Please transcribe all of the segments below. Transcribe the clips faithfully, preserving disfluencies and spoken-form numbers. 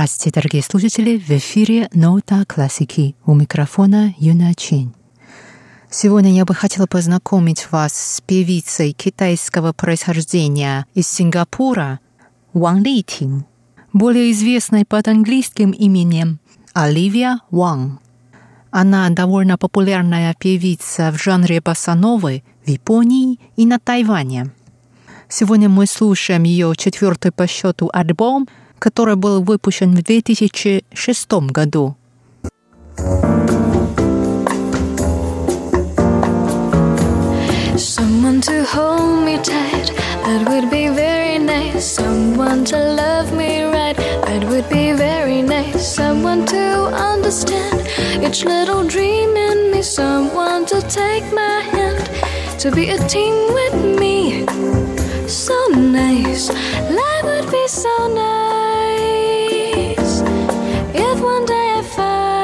Здравствуйте, дорогие слушатели! В эфире «Нота классики». У микрофона Юна Чин. Сегодня я бы хотела познакомить вас с певицей китайского происхождения из Сингапура Ван Литин, более известной под английским именем Оливия Ван. Она довольно популярная певица в жанре босса-новы в Японии и на Тайване. Сегодня мы слушаем ее четвертый по счету альбом, который был выпущен в две тысячи шестом году. Someone to hold me tight, that would be very nice. Someone to love me right, that would be very nice. Someone to understand each little dream in me. Someone to take my hand, to be a team with me. So nice, life would be so nice if one day I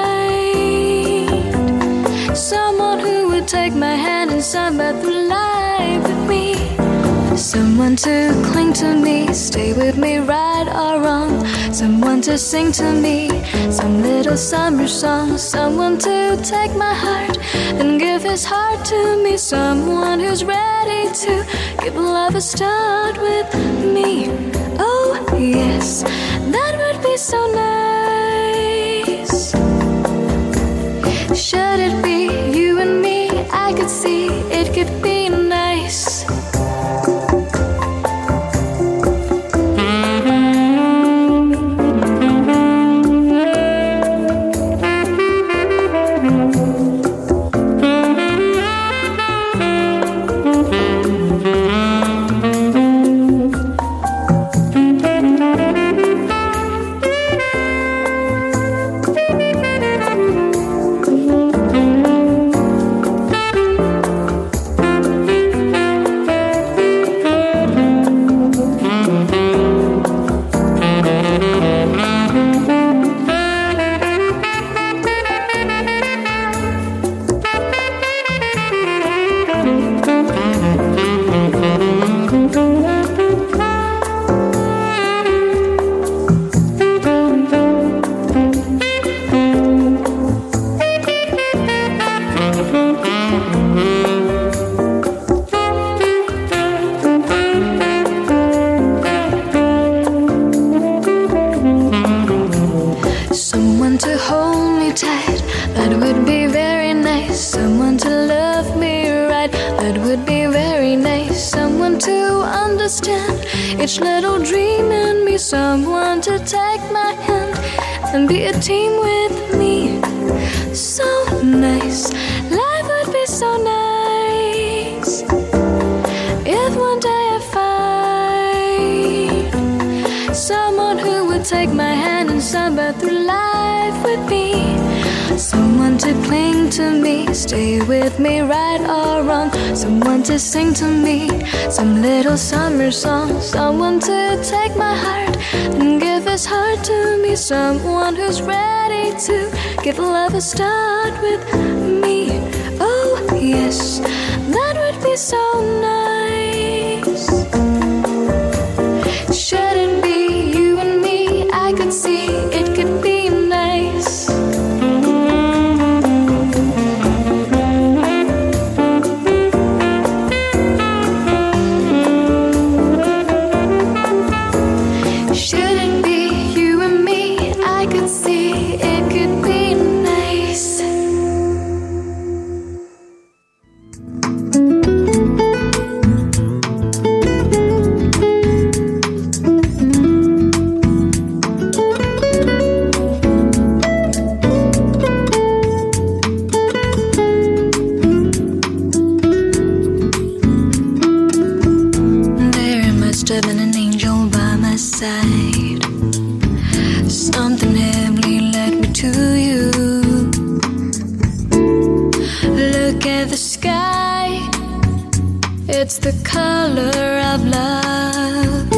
find someone who would take my hand and samba through life with me. Someone to cling to me, stay with me right or wrong. Someone to sing to me some little summer song. Someone to take my heart and give his heart to me. Someone who's ready to give love a start with me. Oh yes, that would be so nice. Should it be you and me? I could see it could be nice. Each little dream in me, someone to take my hand and be a team with me. So nice, life would be so nice if one day I find someone who would take my hand and samba through life with me. Someone to cling to me, stay with me right or wrong. Someone to sing to me some little summer song. Someone to take my heart and give his heart to me. Someone who's ready to give love a start with me. Oh yes, that would be so nice. Should it be you and me? I could see it could be nice. It's the color of love.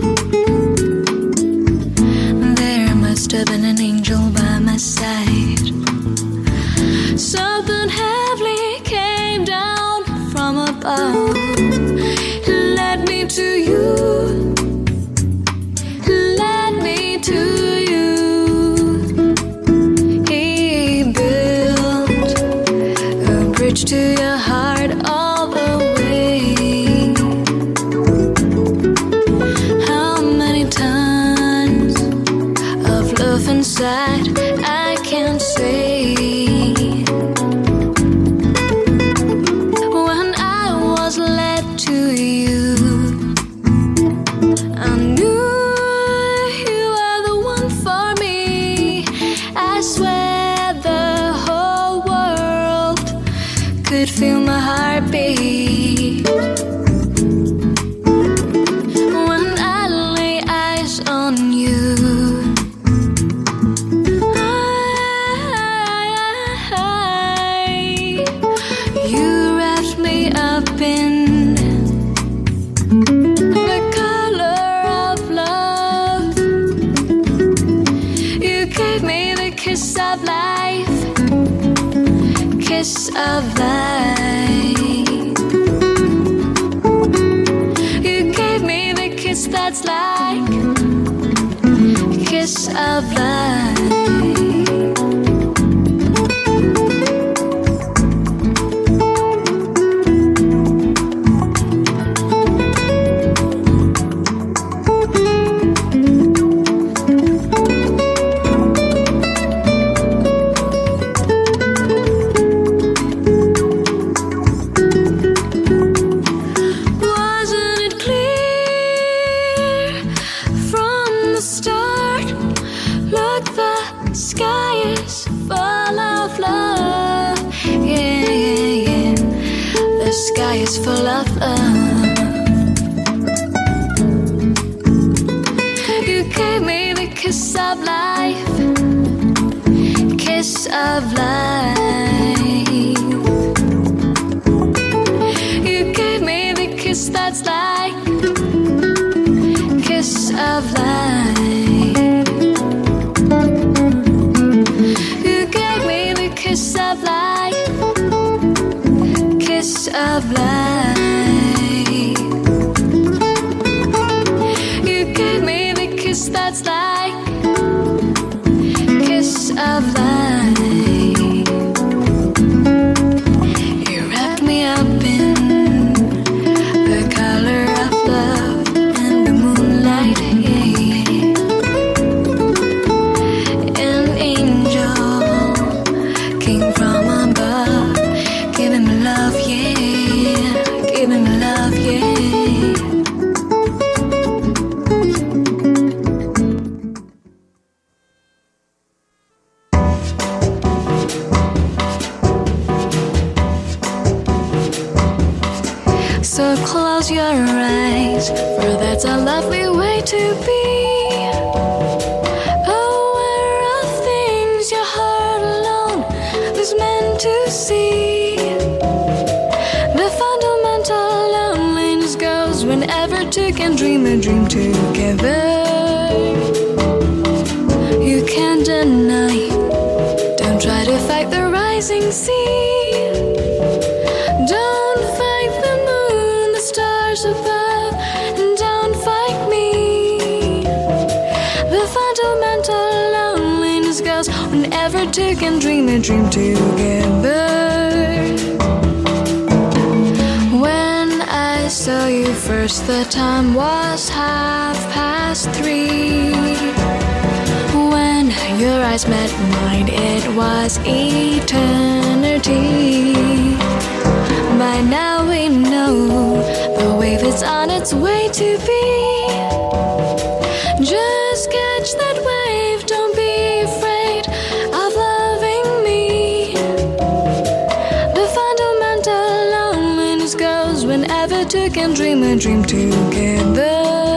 There must have been an angel by my side. Something heavenly came down from above. Led me to you. Led me to you. could feel my heartbeat when I lay eyes on you. I, you wrapped me up in the color of love. You gave me the kiss of life, kiss of life. You gave me the kiss that's like kiss of life. Is full of love. You gave me the kiss of life, kiss of life. You gave me the kiss that's like kiss of life. You gave me the kiss of life, kiss of life. You gave me the kiss that's like kiss of life. You wrapped me up in the color of love and the moonlight. An angel came from above, giving me love, yeah, giving me love, yeah. So close your eyes, for that's a lovely way to be. Aware of things your heart alone was meant to see. The fundamental loneliness goes whenever two can dream a dream together. You can't deny, don't try to fight the rising sea. Don't fight the moon, the stars above, and don't fight me. The fundamental loneliness goes whenever two can dream a dream together. When I saw you first, the time was half past three. When your eyes met mine, it was eternity. By now we know the wave is on its way to be. Just catch that wave, don't be afraid of loving me. The fundamental loneliness goes whenever two can dream a dream together.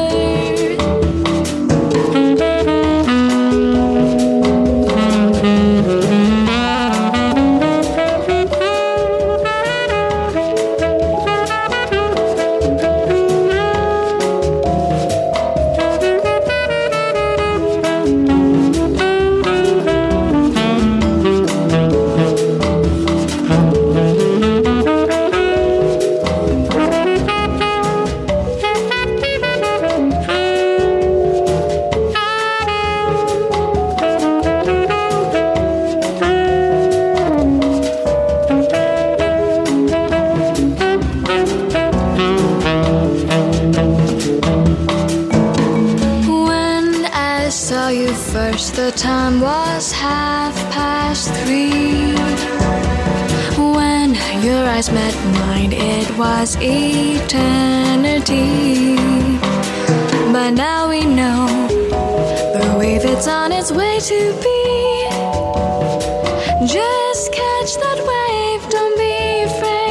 The time was half past three. When your eyes met mine, it was eternity. By now we know the wave, it's on its way to be. Just catch that wave, don't be afraid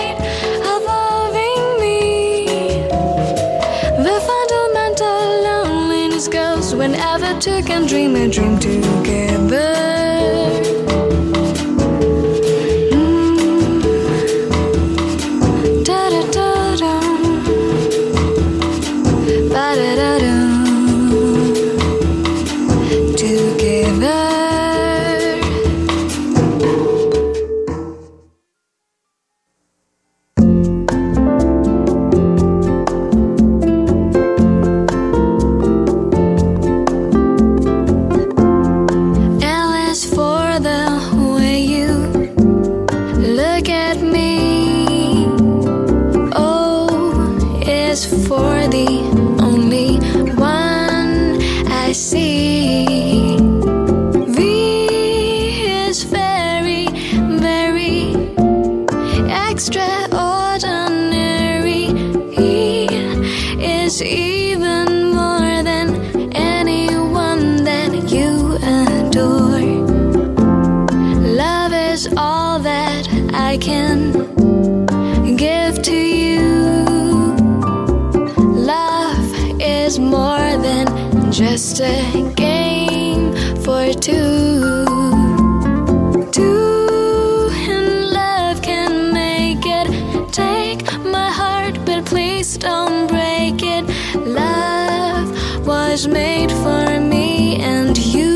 two can dream a dream together. Just a game for two. Two in love can make it. Take my heart, but please don't break it. Love was made for me and you.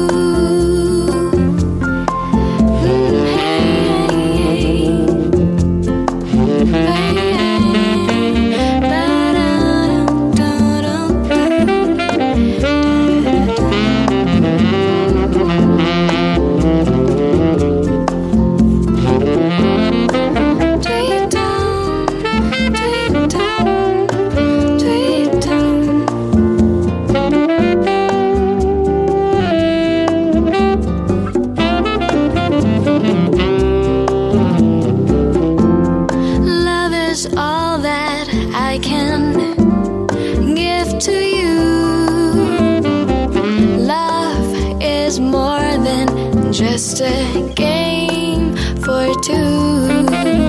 Just a game for two.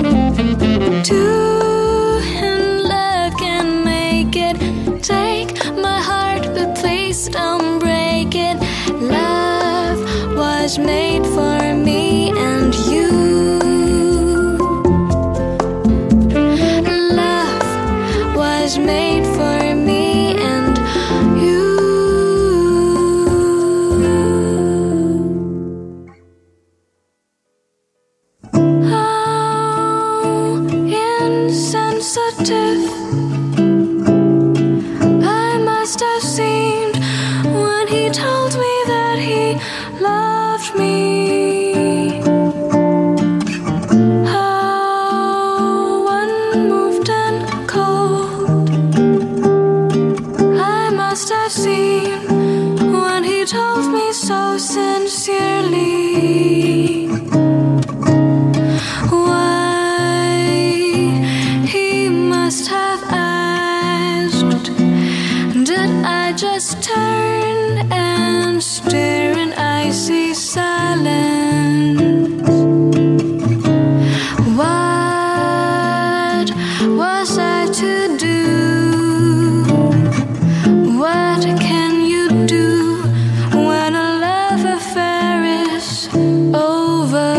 Two in love can make it. Take my heart, but please don't break it. Love was made for me and you. Love was made for me and you. I must have seemed when he told me that he loved me. How unmoved and cold I must have seemed when he told me so sincerely. Just turn and stare and I see silence. What was I to do? What can you do when a love affair is over?